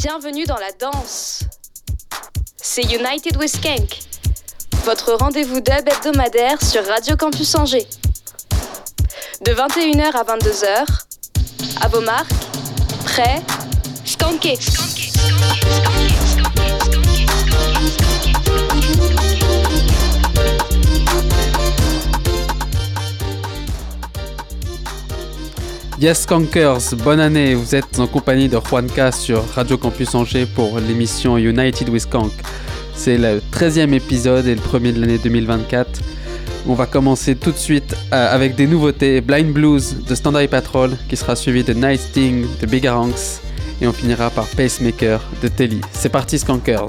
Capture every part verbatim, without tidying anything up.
Bienvenue dans la danse. C'est United with Skank, votre rendez-vous dub hebdomadaire sur Radio Campus Angers. De vingt et une heures à vingt-deux heures, à vos marques, prêts, skankez. Yes Skankers, bonne année, vous êtes en compagnie de Juanca sur Radio Campus Angers pour l'émission United with Skank. C'est le treizième épisode et le premier de l'année deux mille vingt-quatre. On va commencer tout de suite euh, avec des nouveautés. Blind Blues de Standard Patrol qui sera suivi de Night Sting de Bigaranx et on finira par Pacemaker de Telly. C'est parti Skankers.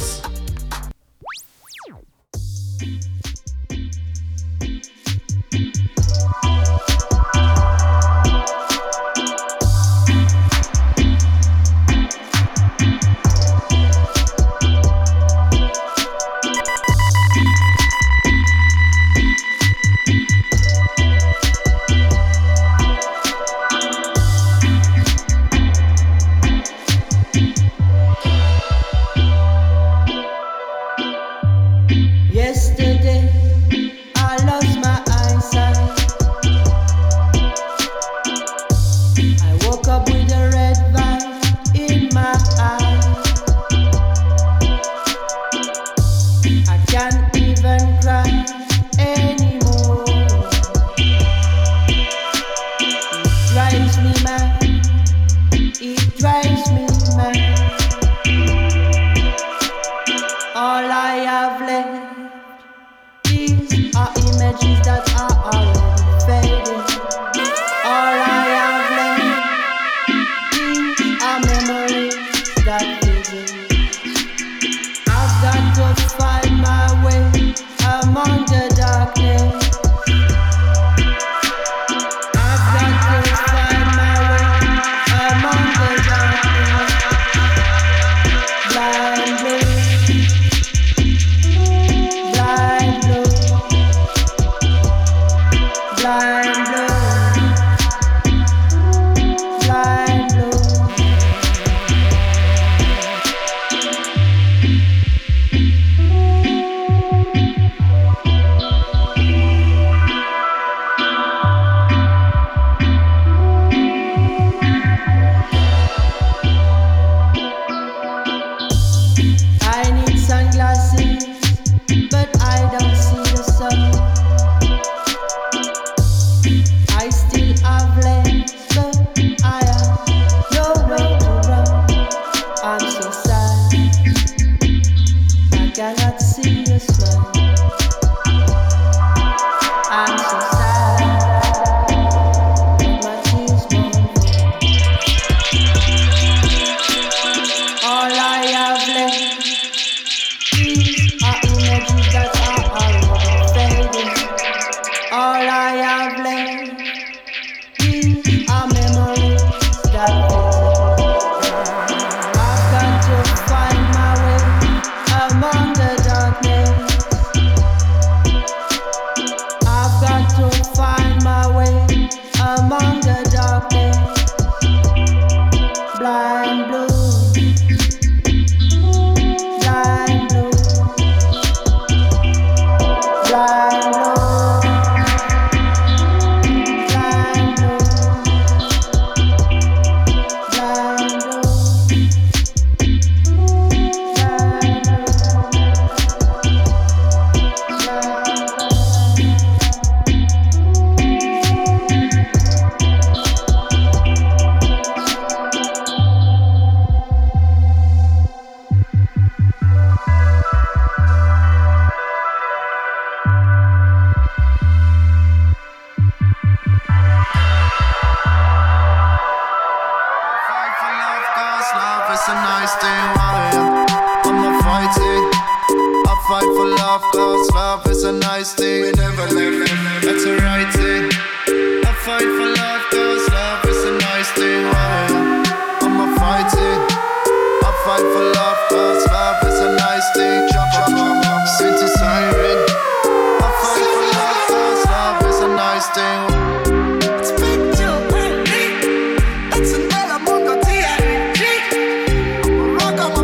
It's an element of T I G. Rock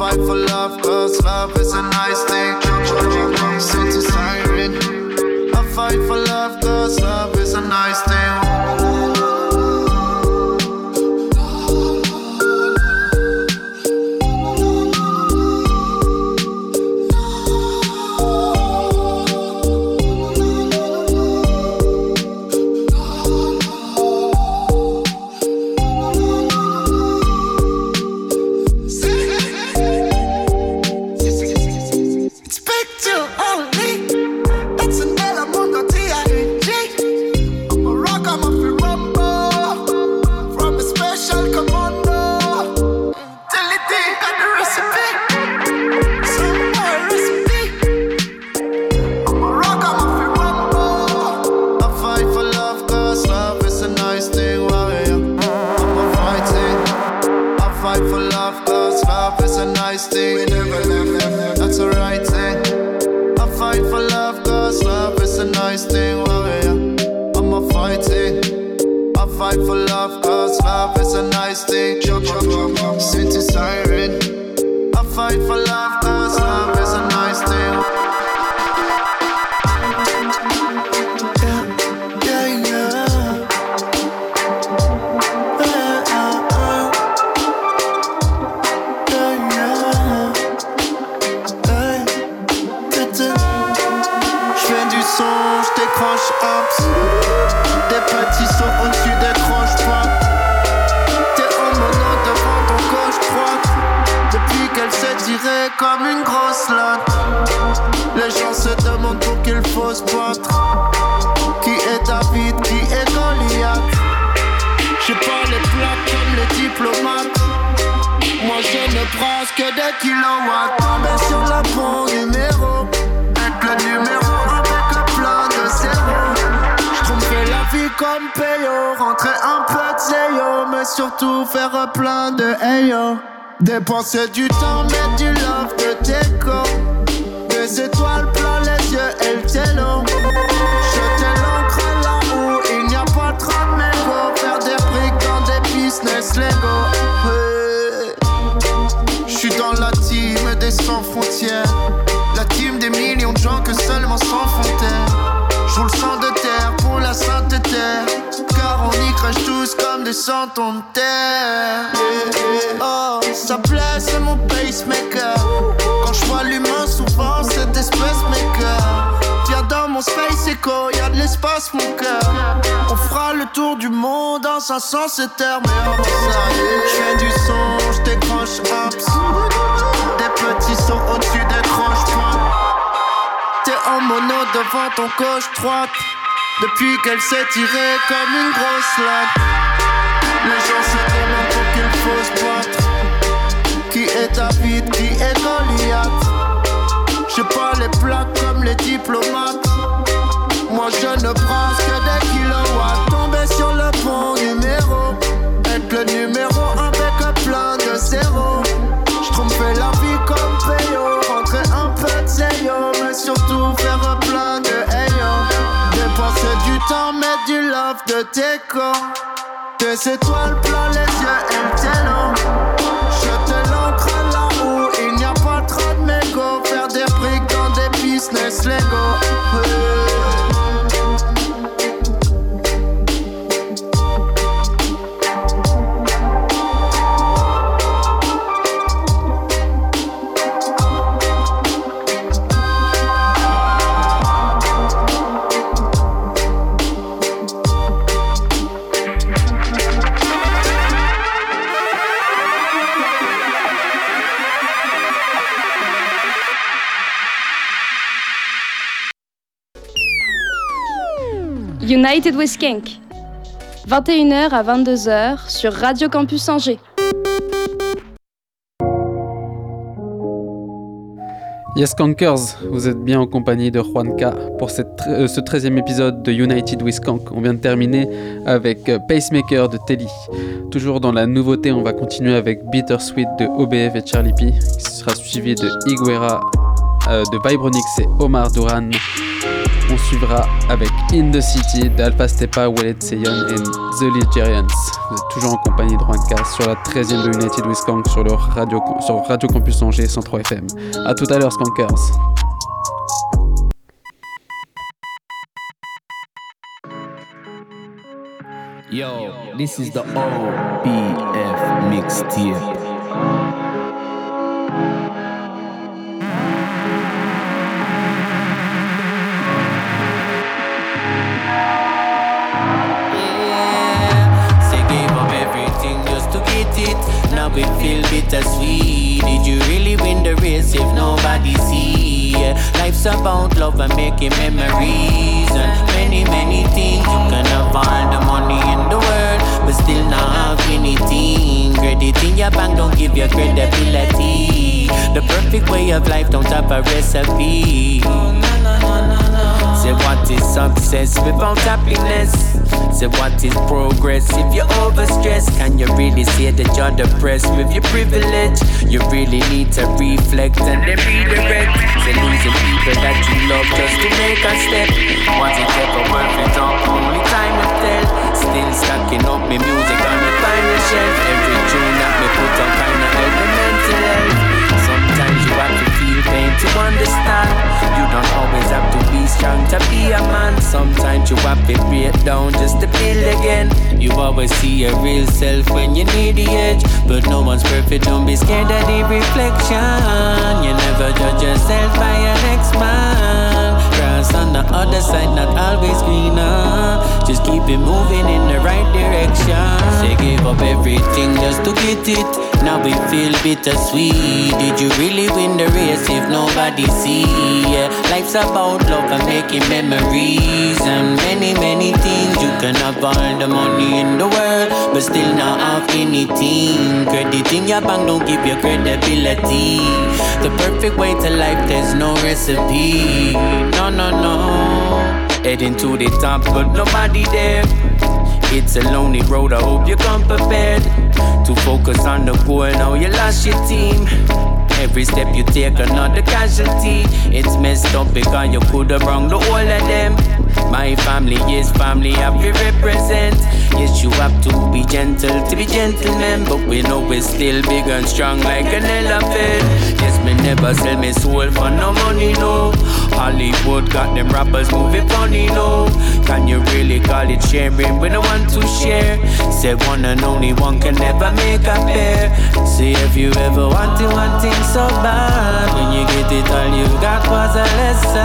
fight for love, cause love is a nice thing. Since it's siren, I fight for love, cause love is a nice thing. Dépenser du temps, mettre du love de déco. Des étoiles plein les yeux et le télo. Jeter l'encre là où il n'y a pas trop de mégots. Faire des briques dans des business Lego. Ouais. J'suis dans la team des sans frontières. La team des millions de gens que seulement sans fontaine. J'roule sang de terre pour la sainte terre. Car on y crache tous comme des centons de terre. Yeah, yeah. Oh, ça plaît, c'est mon pacemaker. Quand je vois l'humain, souvent c'est des spacemakers. Viens dans mon space echo, y'a de l'espace, mon cœur. On fera le tour du monde en cinq cents c'est terre. Mais avant ça, j'fais du son, j'décroche ups. Des petits sauts au-dessus des croche-points. T'es en mono devant ton gauche droite. Depuis qu'elle s'est tirée comme une grosse latte. Les gens se demandent pour qu'il faut se battre. Qui est David, qui est Goliath? J'ai pas les plaques comme les diplomates. Moi je ne prends que des kilowatts. Tomber sur le bon numéro. Être le numéro avec plein de zéros. J'trompais la vie comme Peyo. Rentrer un peu de zéyo. Mais surtout faire plein de ayo. Dépenser du temps, mettre du love de déco. Des étoiles plein les yeux et le télo. Jeter l'encre là où il n'y a pas trop de mégots. Faire des briques dans des business Lego. Ouais. United with Skank, vingt et une heures à vingt-deux heures sur Radio Campus Angers. Yes Skankers, vous êtes bien en compagnie de Juanca pour cette, euh, ce treizième épisode de United with Skank. On vient de terminer avec euh, Pacemaker de Telly. Toujours dans la nouveauté, on va continuer avec Bittersweet de O B F et Charlie P, qui sera suivi de Higuera euh, de Vibronix et Omar Duran. On suivra avec In the City d'Alpha Stepa, Wallet Seyon et The Ligerians. Vous êtes toujours en compagnie de Juanca sur la treizième de United with Skank sur, le radio, sur Radio Campus Angers cent trois F M. A tout à l'heure, Skankers. Yo, this is the O B F mixtape. Now we feel bittersweet. Did you really win the race if nobody see? Life's about love and making memories, and many, many things. You can have all the money in the world, but still not have anything. Credit in your bank don't give you credibility. The perfect way of life don't have a recipe. Say what is success without happiness? Say what is progress if you're overstressed? Can you really say that you're depressed with your privilege? You really need to reflect and then redirect. Say losing people that you love just to make a step. Was it ever worth it? Only time will tell. Still stacking up my music on the final shelf. Every tune that me put on kinda help me mental health. Sometimes you have to feel pain to understand. You don't always have to be strong to be a man. Sometimes you have to break down just to build again. You always see your real self when you need the edge, but no one's perfect, don't be scared of the reflection. You never judge yourself by your next man. Grass on the other side, not always greener. Just keep it moving in the right direction. They gave up everything just to get it. Now we feel bittersweet. Did you really win the race if nobody see? Yeah. Life's about love and making memories, and many, many things. You can have all the money in the world, but still not have anything. Credit in your bank don't give you credibility. The perfect way to life, there's no recipe. No, no, no. Heading to the top, but nobody there. It's a lonely road, I hope you come prepared to focus on the goal, now you lost your team. Every step you take another casualty. It's messed up because you could have wronged the whole of them. My family is family, I will represent. Yes, you have to be gentle to be gentlemen, but we know we're still big and strong like an elephant. Yes, me never sell me soul for no money, no. Hollywood got them rappers moving funny, no. Can you really call it sharing? We don't want to share. Say one and only one can never make a pair. See if you ever wanted one thing so bad, when you get it all you got was a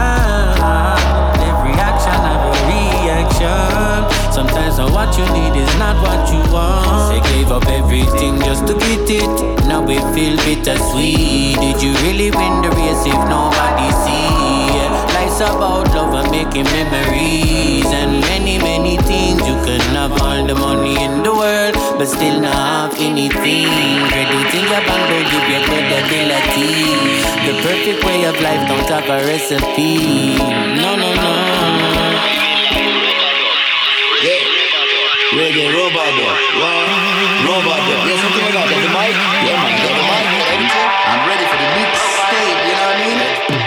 lesson. Every action have a reaction. Sometimes what you need is not what you want. They gave up everything just to get it. Now we feel bittersweet. Did you really win the race if nobody see? Life's about love and making memories, and many, many things. You can have all the money in the world, but still not have anything. Credit in your bank don't give you credibility. The perfect way of life don't have a recipe. No, no, no. Yeah. Reggae Robado. Robado. Yeah, something like that. Got the mic? Yeah, man. Got the mic. I'm ready for the big stage, you know what I mean?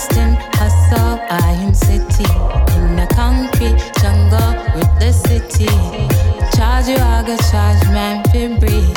constant hustle, I am city. In a concrete jungle with the city. Charge you, I go charge, man, for breathe.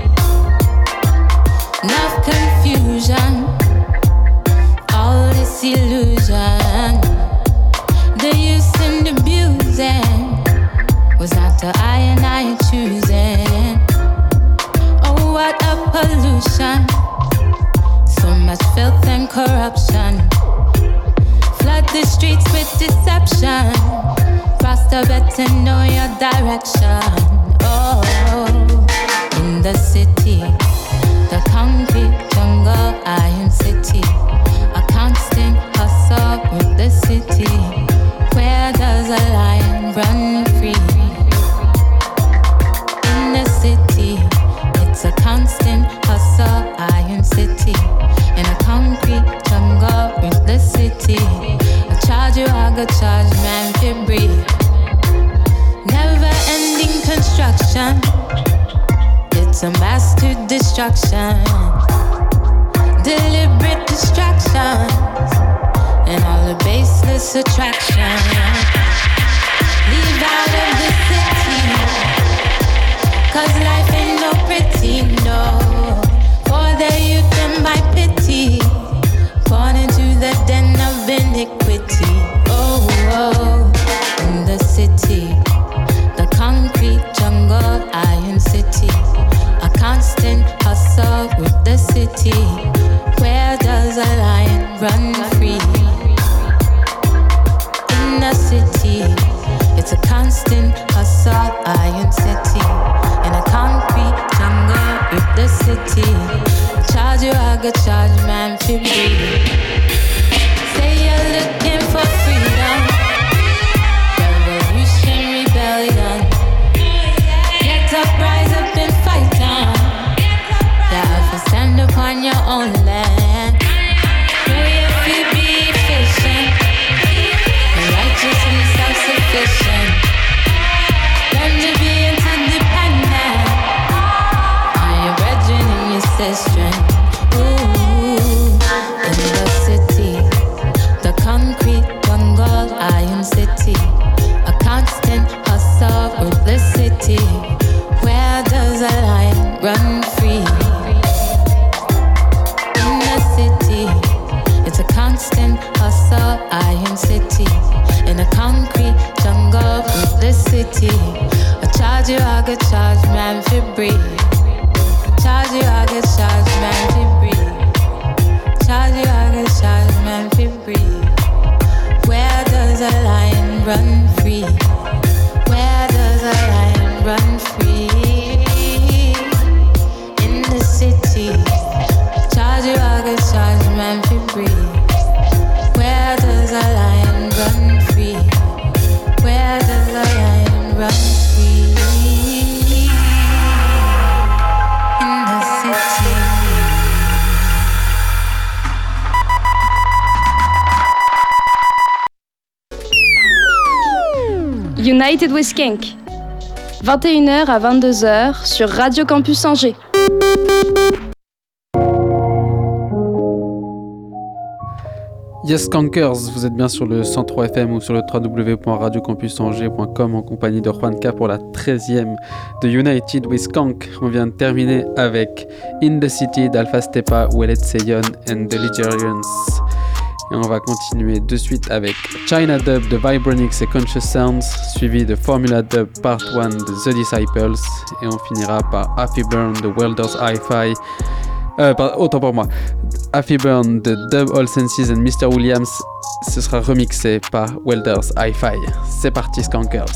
Enough confusion, all this illusion. The use and abusing was not the I and I choosing. Oh, what a pollution. So much filth and corruption. Flood the streets with deception. Cross the bet to know your direction. Oh, in the city, the concrete jungle, I am city. A constant hustle with the city. Where does a lion run free? In the city, it's a constant hustle, I am city. In a concrete jungle with the city. I charge you, I go charge, man, for breathe. Never ending construction. It's a mass to destruction. Deliberate distractions and all the baseless attraction. Leave out of the city, cause life ain't no pretty, no. For the youth and my pity, born into the den of iniquity. Oh, oh, in the city, the concrete jungle, I am city. A constant hustle with the city. Where does a lion run free? In the city, it's a constant hustle, I am city. In a concrete jungle with the city. Charge you, I go charge, man, for breathe. Say you're looking for freedom. Revolution, rebellion. Get up, rise up and fight on. Yeah, if you stand upon your own land. Know if you be efficient and righteously self-sufficient. Learn to be interdependent on your brethren and your sister. Ooh, in the city, the concrete jungle, I am city. A constant hustle with the city. Where does a lion run free? In the city, it's a constant hustle, I am city. In a concrete jungle with the city. I charge you, I go charge, man, for breathe. Charge you, I go charge, man, for breathe. Charge you, I go charge, man, for breathe. Where does a lion run free? Where does a lion run free? In the city, charge you, I go charge, man, for breathe. Where does a lion run free? Where does a lion run free? In the city. United with Skank. vingt et une heures à vingt-deux heures sur Radio Campus Angers. Yes Skankers, vous êtes bien sur le cent trois F M ou sur le w w w point radio campus angers point com en compagnie de Juanca pour la treizième de United with Skank. On vient de terminer avec In the City d'Alpha Stepa, Wallet Seyon and the Ligerians. Et on va continuer de suite avec China Dub de Vibronix et Conscious Sounds, suivi de Formula Dub Part un de The Disciples, et on finira par Happy Burn de Welders Hi-Fi. Euh, pardon, autant pour moi. Happy Burn de Dub All Senses and mister Williams, ce sera remixé par Welders Hi-Fi. C'est parti, Skankers.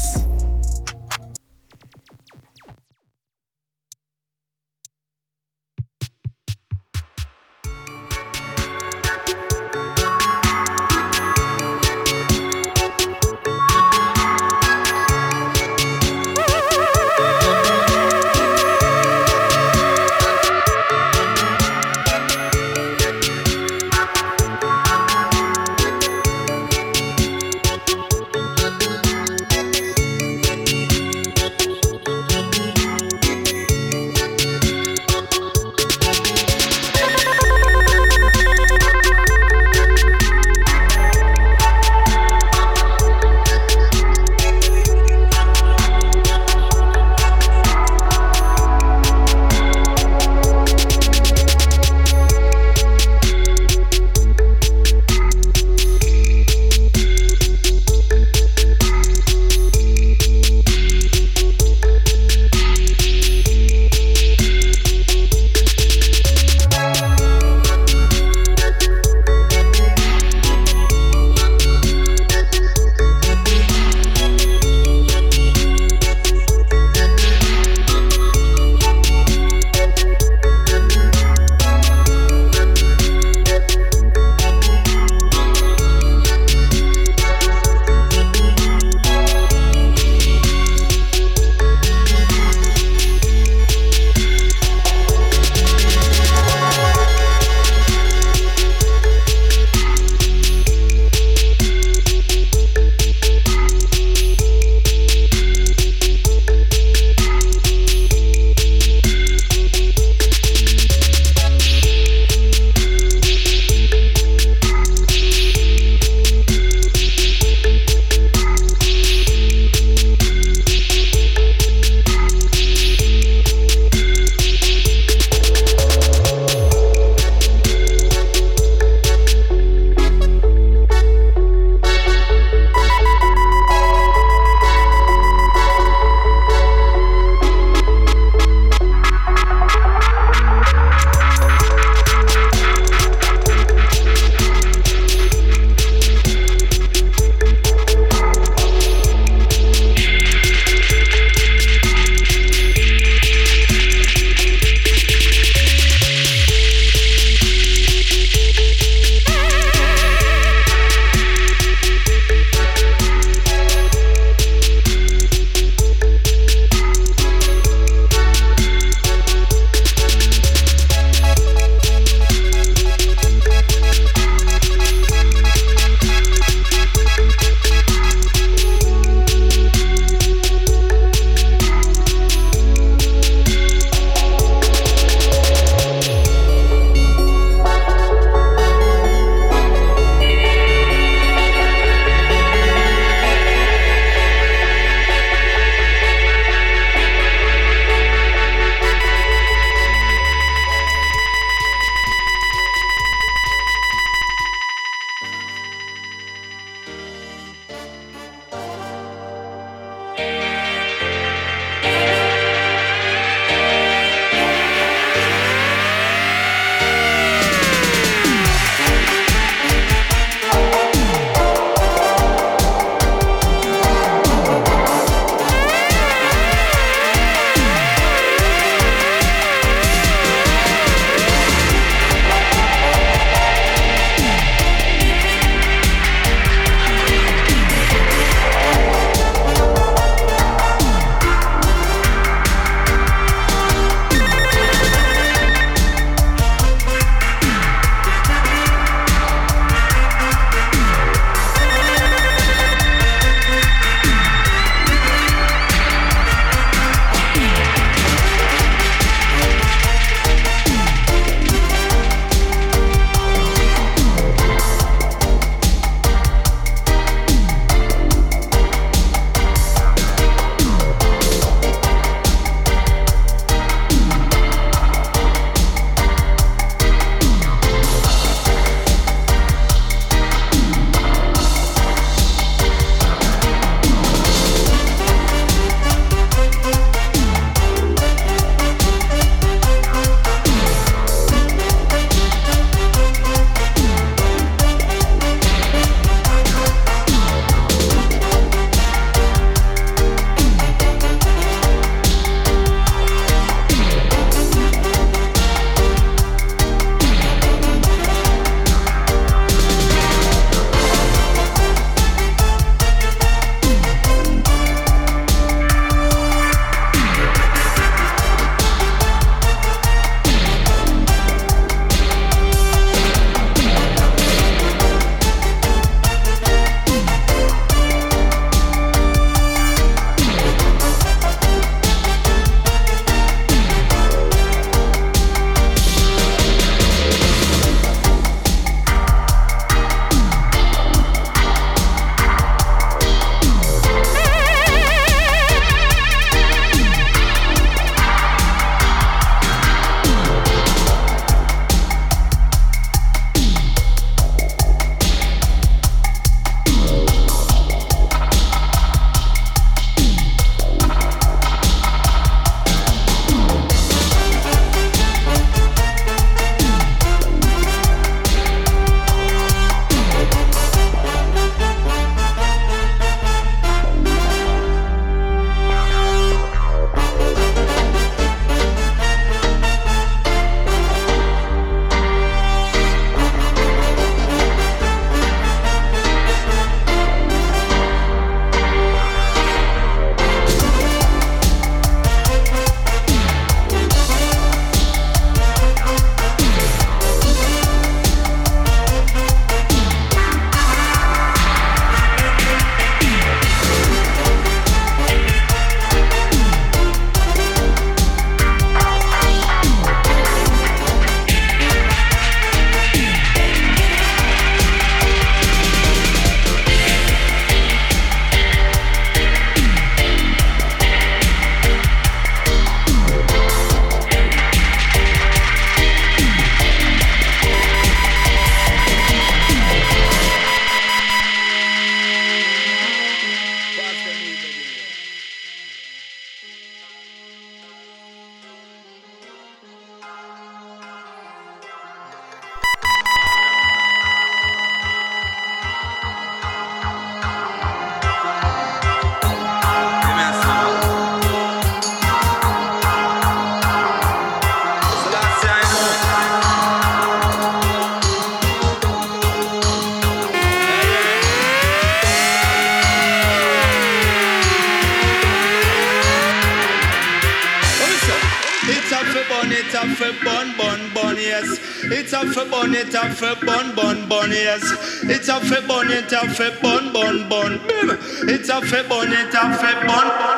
yes. It's a fi bun, it's a fi bun, bun, bun, yes. It's a fi bun, it's a fi bun, bun, bun, bim. It's a fi bun, it's a fi bun, bun.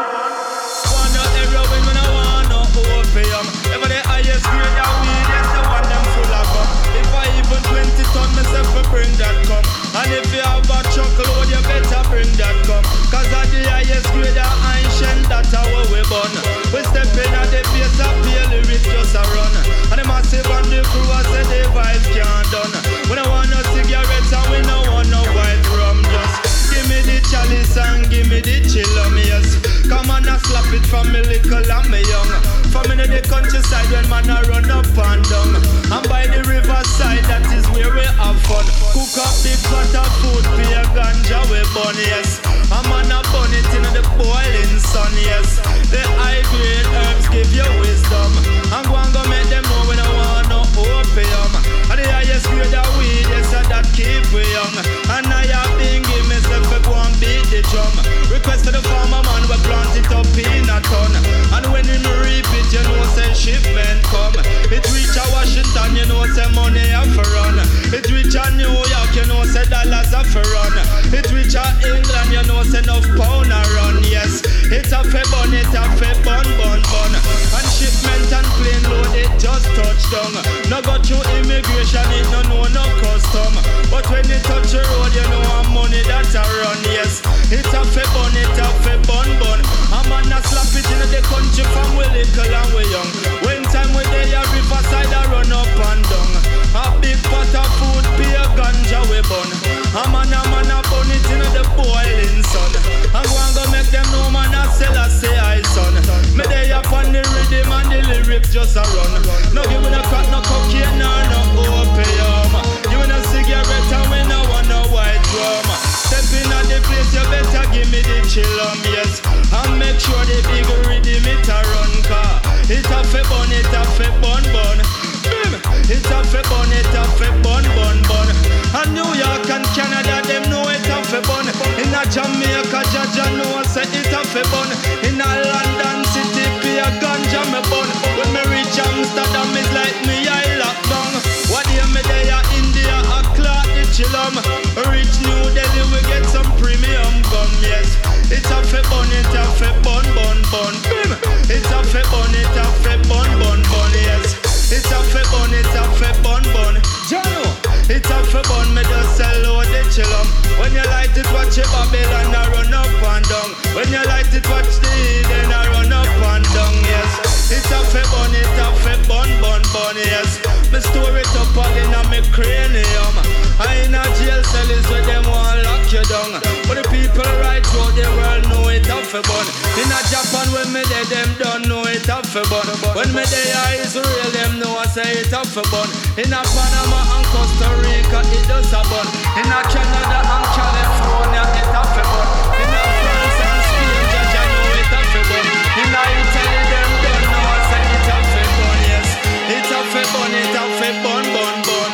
Want no heroin, me no want no opium. Ever the highest grade of weed, yes, the one them full of gum. If I even twenty ton, myself will bring that come. And if you have a truckload, you better bring that come. Cause at the highest grade of ancient, that's how we burn. We step in at the place of pale lyrics just a run. And the massive and the crew I say the vibes can't done. We don't want no cigarettes and we don't want no white rum. Just give me the chalice and give me the chillum, yes. Come on and slap it from me little and me young. From in the countryside when man a run up and down. And by the riverside that is where we have fun. Cook up big pot of food, pay a ganja we burn, yes. A man a burn it in the boiling sun, yes. The high grade herbs give you wisdom. And go and go make them know we don't want no opium. And the highest grade of weed, yes, and that keep we young. And I have been give myself a go and beat the drum. Request to the farmer man, we plant it up in a ton. And when we reap it, you know say shipment come. It reach a Washington, you know say money have to run. It reach a New York, you know say dollars have to run. It reach a England, you know say enough pound a run, yes. It's a fe bun, it's a fe bun, bun, bun. And shipment and plane load, it just touch down. No go through immigration, it no know no custom. But when it touch the road, you know how money that a run, yes. It's a fe bun, it's a fe bun, bun. A man a slap it in the country from we little and we young. When time we there, a riverside a run up and down. A big pot of food, pay a ganja we bun. A man a man a bun it in the boiling sun. And go and go make them know man a sell a say I son. Me there upon the rhythm and the lyrics just a run. No give me no crack, no cocaine, no no opium. Give me no cigarette and we no want no white rum. Step in at the place, you better give me the chillum, yes. And make sure the big rhythm it a run car. It a fe bun, it a fe bun bun. Bim! It a fe bun, it a fe bun bun bun. And New York and Canada, them know it a fe bun. In a Jamaica, Jaja know say it a fe bun. In a London city, be a ganja me bun. When me reach Amsterdam, it's like me I lock down. What year me there, India, a clock the chillum. Reach New Delhi, we get some premium gum, yes. It's a fe bun, it's a fe bun, bun, bun. Bim! It's a fe bun, it's a fe bun, bun, bun, yes. It's a fe bun, it's a fe bun, bun. Jano, it's a fe bun, me just sell out the chillum. When you light it, watch it Babylon, I run up and down. When you light it, watch the Eden, I run up and down, yes. It's a fe bun, it's a fe bun, bun, bun, yes. Me store it up again on me cranium. I in a jail cell is where them want lock you down. But the people right throughout the world know it a fe bun. In a Japan when me there, them don't know it a fe bun. When me there Israel, them know I say it a fe bun. In a Panama and Costa Rica, it does a bun. In a Canada and California, it a fe bun. In a France and Spain, Jaja know it a fe bun. In a Italy, them don't know I say it a fe bun, yes. It a fe bun, it a fe bun, bun, bun.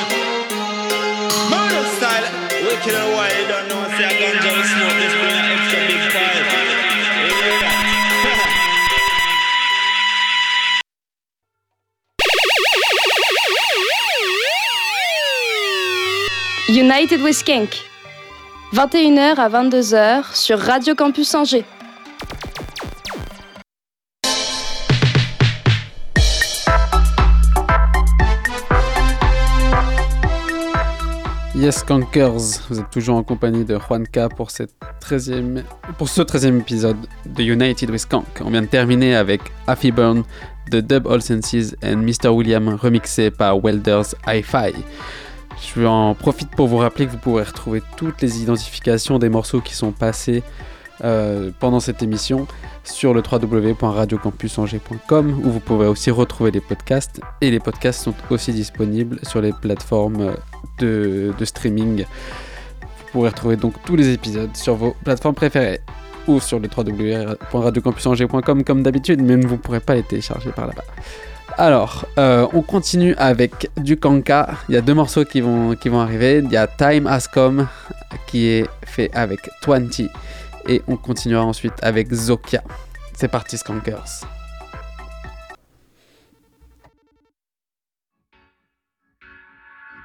Murder style, wicked and why you don't know say a ganja will smoke this bring an extra big fire. You hear that? United with Skank, vingt et une heures à vingt-deux heures sur Radio Campus Angers. Yes Skankers, vous êtes toujours en compagnie de Juanca pour, cette treizième, pour ce treizième épisode de United with Skank. On vient de terminer avec Affy Burn de Dub All Senses et mister William remixé par Welders Hi-Fi. Je en profite pour vous rappeler que vous pourrez retrouver toutes les identifications des morceaux qui sont passés euh, pendant cette émission sur le w w w point radio campus angers point com où vous pourrez aussi retrouver les podcasts et les podcasts sont aussi disponibles sur les plateformes de, de streaming. Vous pourrez retrouver donc tous les épisodes sur vos plateformes préférées ou sur le w w w point radio campus angers point com comme d'habitude, mais vous ne pourrez pas les télécharger par là-bas. Alors, euh, on continue avec du Kanka. Il y a deux morceaux qui vont, qui vont arriver. Il y a Time Has Come qui est fait avec vingt et on continuera ensuite avec Zokia. C'est parti Skankers.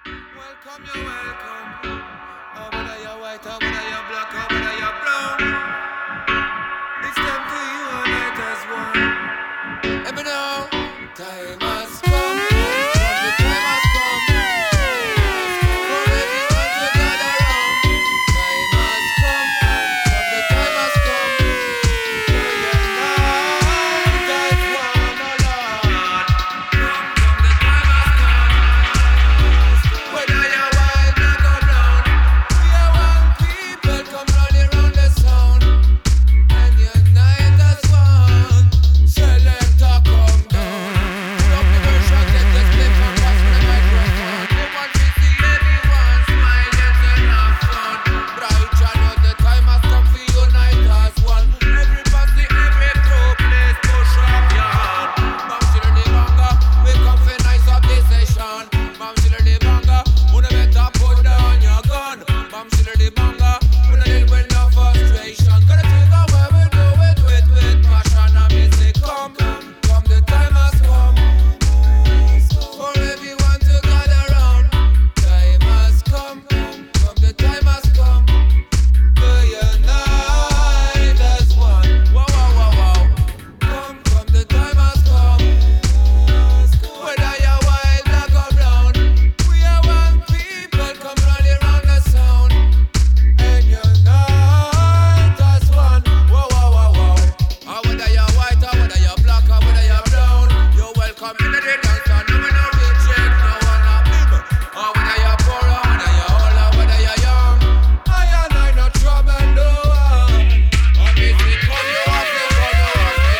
Welcome, you're welcome. Oh, whether you're white or whether you're black or whether you're brown, it's time to unite as one. Let me know, time has come. The time has come. For everyone to gather round. Time has come. The time has come. For unite as one, oh Lord. Come, come, the time has come. Whether you're white, black or brown, we are one people. Come running round the sound and unite as one. Selector, come down. Stop the version, let the slip and pass the microphone. They want to see everyone smile and then have fun. Bright channel, the time has come for unite as one. Everybody, every group, let's push up your hand. Bam, chiller the banga, we come for nice up this session. Bam, chiller the banga, wanna better put down your gun. Bam, chiller the banga, wanna deal with no frustration. Gotta take away we do it with, with passion and music. Come, come, the time has come for everyone to gather round. Time has come, come, the time has come for unite as one. Wow, wow, wow, wow. Come, come, the time has come. Whether you're white, black or brown, we are one people. Come running round the sound and unite as one. Wow, wow, wow, wow. Ah, whether you're white or whether you're black or whether you're brown, you're welcome in the dance and no one no reject, no one no people. Ah, whether you're poor or whether you're old or whether you're young, I and I no trouble no one. And if it come, you have to come, you have to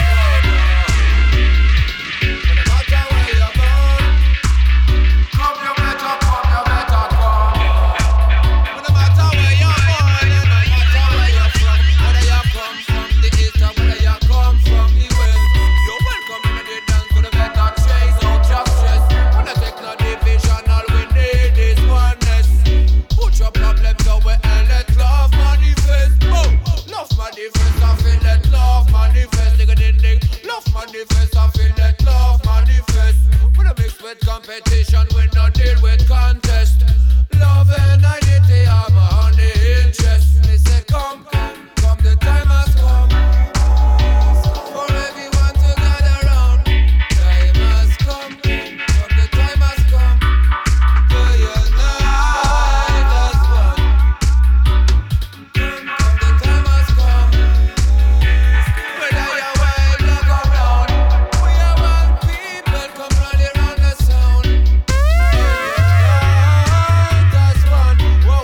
come. No matter where you're born, come you better come, you better come. No matter where you're born, no matter where you're from, whether you come from the east or whether you come from the west, you're welcome in the dance to the better chase out your stress. Wanna take no division, all we need is oneness. Put your problems away and let love manifest. Oh, love manifest, I feel let love manifest. Dig a ding ding, love manifest, I feel let love manifest. We don't mix with competition, we not deal with contest. Love and unity are my honey interest. Me say come, come, come, the time has come for everyone to gather round. Time has come, come, the time has come for unite as one. Come, come, the time has come. Whether you're white, black or brown, we are one people. Come running round the sound and unite as one. Whoa,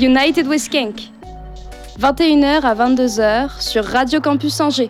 United with Skank. vingt et une heures à vingt-deux heures sur Radio Campus Angers.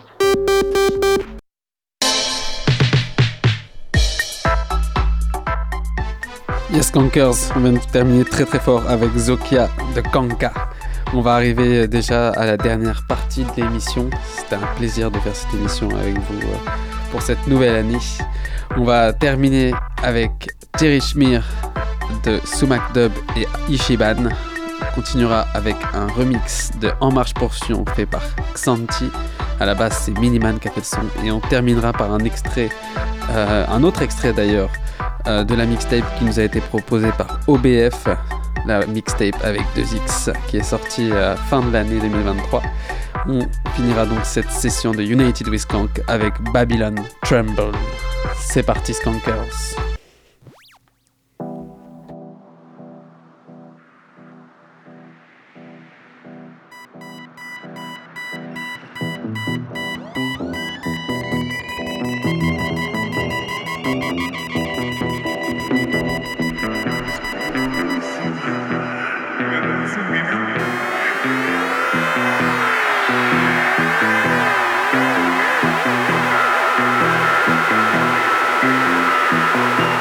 Yes Skankers, on vient de terminer très très fort avec Zokia de Kanka. On va arriver déjà à la dernière partie de l'émission. C'était un plaisir de faire cette émission avec vous pour cette nouvelle année. On va terminer avec Terry Schmier de Sumac Dub et Ishiban. On continuera avec un remix de En Marche Portion fait par Xanti. À la base, c'est Miniman qui a fait le son. Et on terminera par un extrait, euh, un autre extrait d'ailleurs, euh, de la mixtape qui nous a été proposée par O B F, la mixtape avec deux X, qui est sortie à la fin de l'année deux mille vingt-trois. On finira donc cette session de United with Skank avec Babylon Tremble. C'est parti, Skankers. We'll be right back.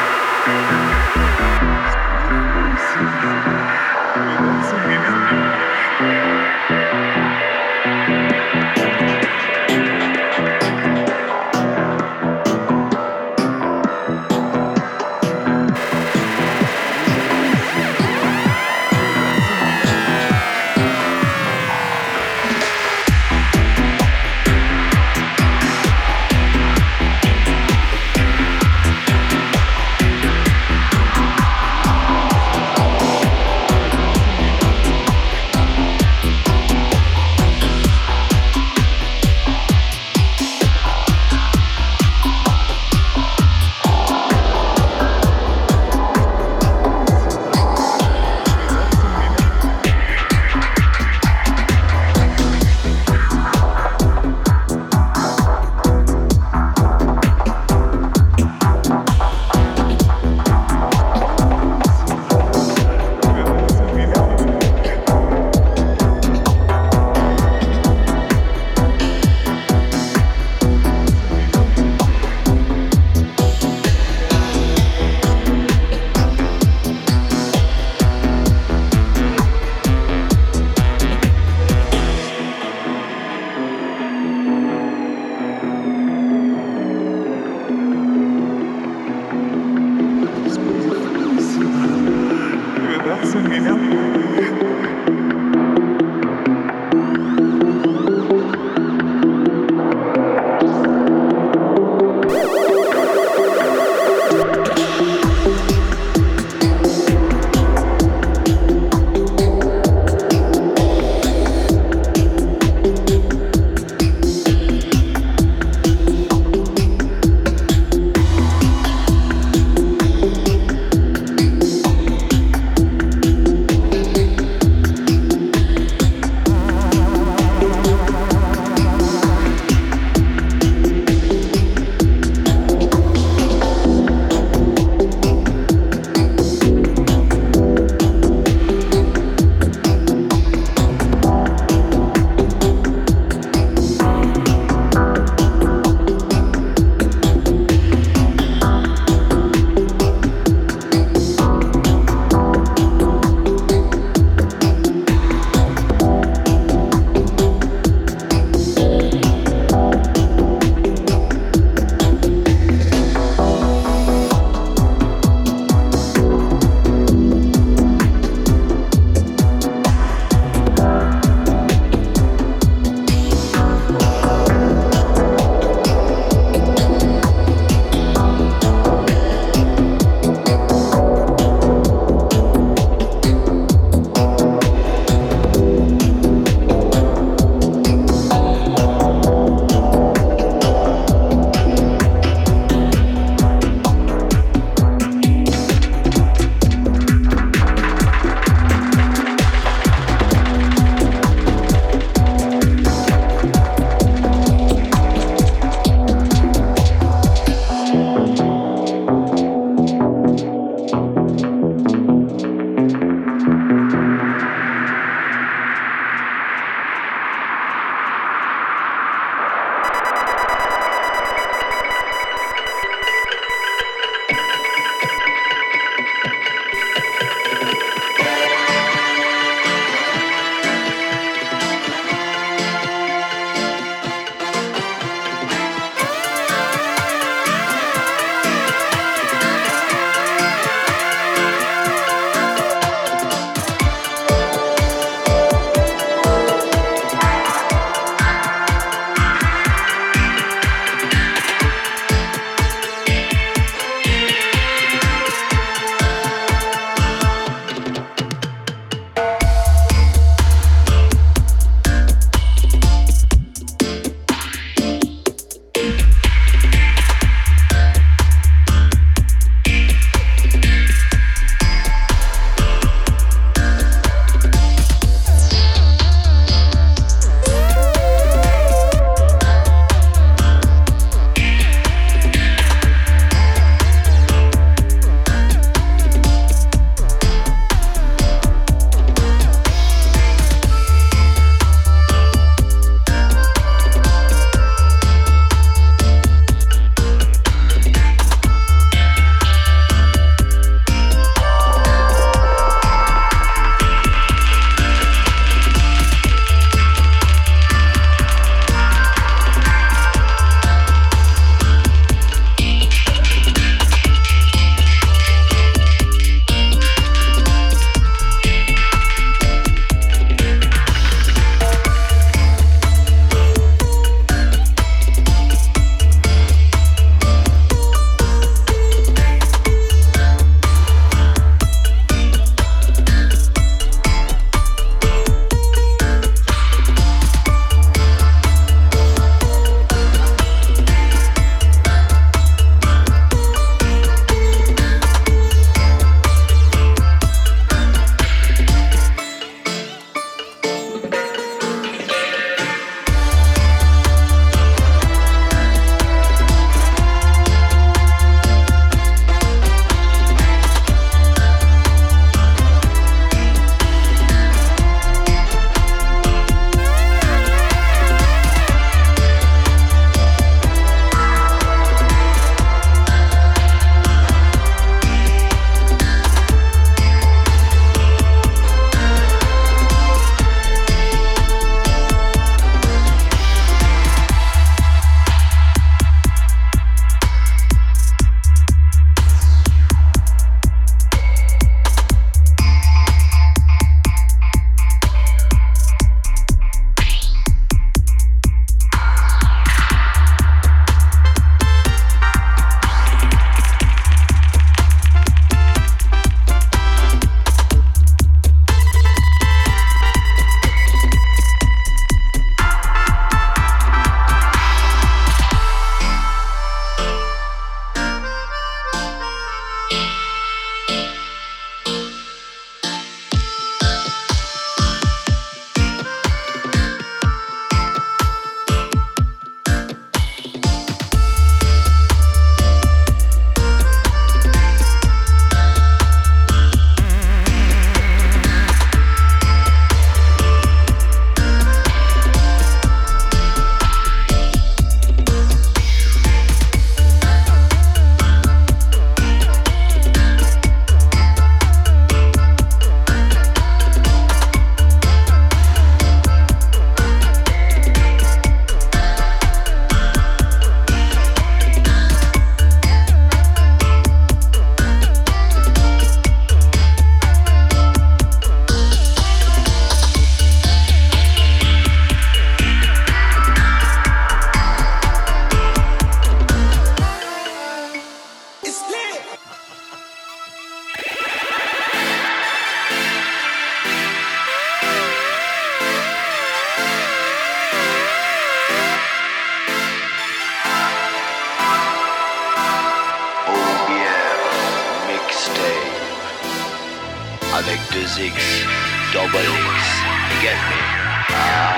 avec deux X, double X, get me? Ah.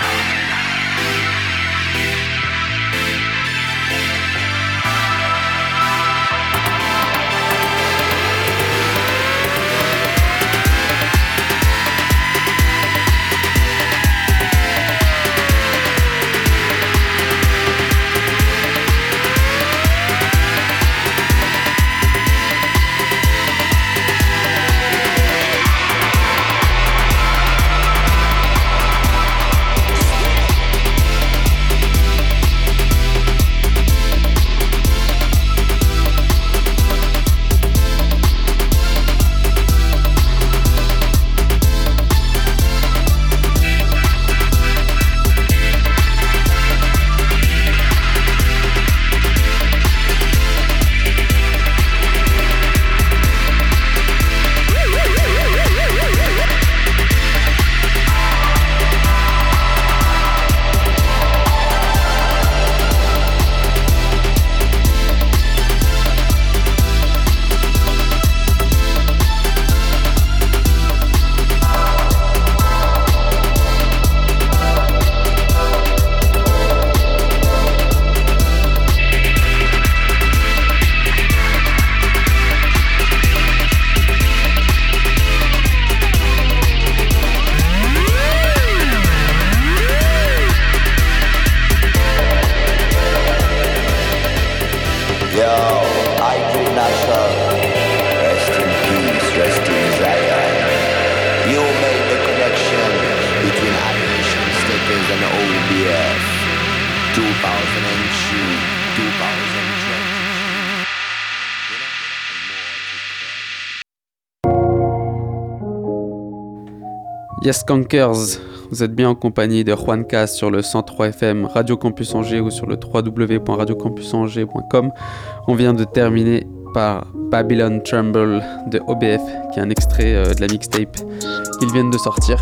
Yes Skankers, vous êtes bien en compagnie de Juanca sur le cent trois F M Radio Campus Angers ou sur le w w w point radio campus angers point com. On vient de terminer par Babylon Tremble de O B F, qui est un extrait euh, de la mixtape qu'ils viennent de sortir.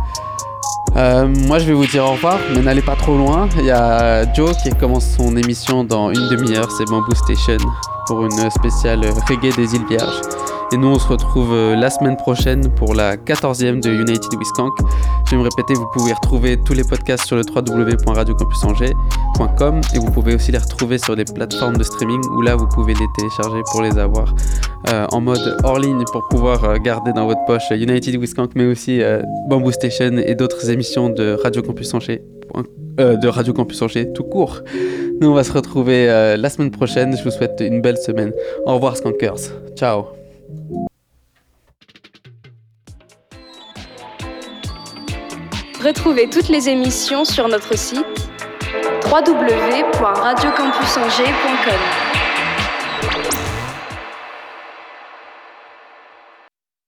Euh, moi je vais vous dire au revoir, mais n'allez pas trop loin. Il y a Joe qui commence son émission dans une demi-heure, c'est Bamboo Station, pour une spéciale reggae des îles Vierges. Et nous on se retrouve la semaine prochaine pour la quatorzième de United with Skank. Je vais me répéter, vous pouvez retrouver tous les podcasts sur le w w w point radio campus angers point com et vous pouvez aussi les retrouver sur des plateformes de streaming où là vous pouvez les télécharger pour les avoir euh, en mode hors ligne pour pouvoir euh, garder dans votre poche United with Skank, mais aussi euh, Bamboo Station et d'autres émissions de Radio Campus Angers, euh, de Radio Campus Angers tout court. Nous on va se retrouver euh, la semaine prochaine. Je vous souhaite une belle semaine. Au revoir Skankers. Ciao. Retrouvez toutes les émissions sur notre site w w w point radio campus angers point com.